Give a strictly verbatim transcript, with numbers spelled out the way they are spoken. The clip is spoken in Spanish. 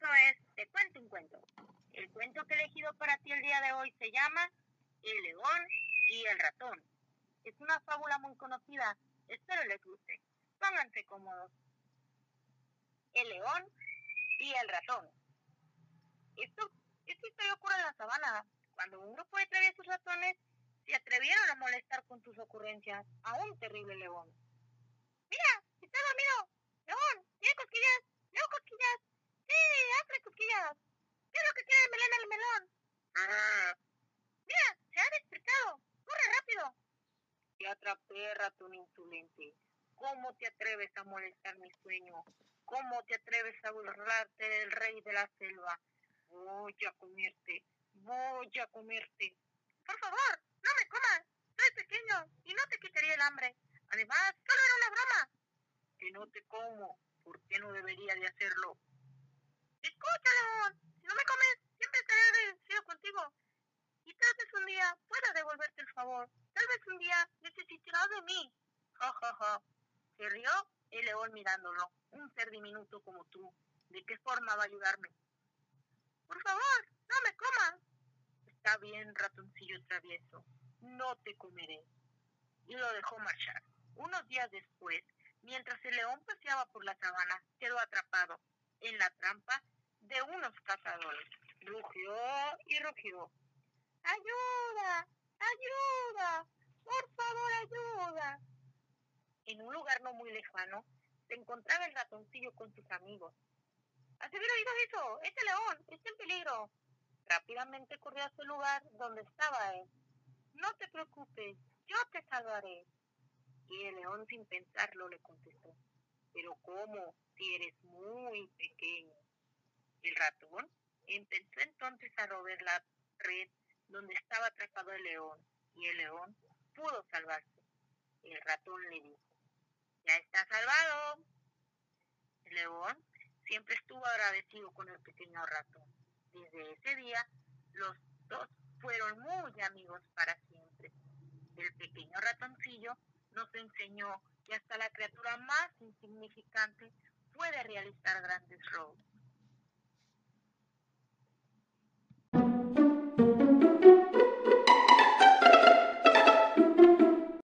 es Te cuento un cuento. El cuento que he elegido para ti el día de hoy se llama El león y el ratón. Es una fábula muy conocida, espero les guste. Pónganse cómodos. El león y el ratón. Esto, esta historia ocurre en la sabana, cuando un grupo de traviesos ratones se atrevieron a molestar con sus ocurrencias a un terrible león. ¡Mira! ¡Está dormido! ¡León! ¡Tiene cosquillas! ¡Leo cosquillas! ¡Sí! ¡Hazle cosquillas! ¿Qué es lo que quiere el melón al melón? ¡Ah! ¡Mira! ¡Se ha despertado! ¡Corre rápido! Te atrapé, ratón insolente. ¿Cómo te atreves a molestar mi sueño? ¿Cómo te atreves a burlarte del rey de la selva? Voy a comerte. Voy a comerte. Por favor, no me comas. Soy pequeño y no te quitaría el hambre. Además, solo era una broma. Que no te como. ¿Por qué no debería de hacerlo? Escucha, león. Si no me comes, siempre estaré agradecido contigo. Y tal vez un día pueda devolverte el favor. Tal vez un día necesitarás de mí. Ja, ja, ja. Se rió el león mirándolo. Un ser diminuto como tú. ¿De qué forma va a ayudarme? Por favor, no me comas. Está bien, ratoncillo travieso. No te comeré. Y lo dejó marchar. Unos días después, mientras el león paseaba por la sabana, quedó atrapado en la trampa de unos cazadores. Rugió y rugió. ¡Ayuda! ¡Ayuda! ¡Por favor, ayuda! En un lugar no muy lejano, se encontraba el ratoncillo con sus amigos. ¿Has oído eso? ¡Ese león! ¡Está en peligro! Rápidamente corrió a ese lugar donde estaba él. No te preocupes, yo te salvaré. Y el león sin pensarlo le contestó. ¿Pero cómo? Si eres muy pequeño. El ratón empezó entonces a roer la red donde estaba atrapado el león, y el león pudo salvarse. El ratón le dijo, ya está salvado. El león siempre estuvo agradecido con el pequeño ratón. Desde ese día, los dos fueron muy amigos para siempre. El pequeño ratoncillo nos enseñó que hasta la criatura más insignificante puede realizar grandes logros.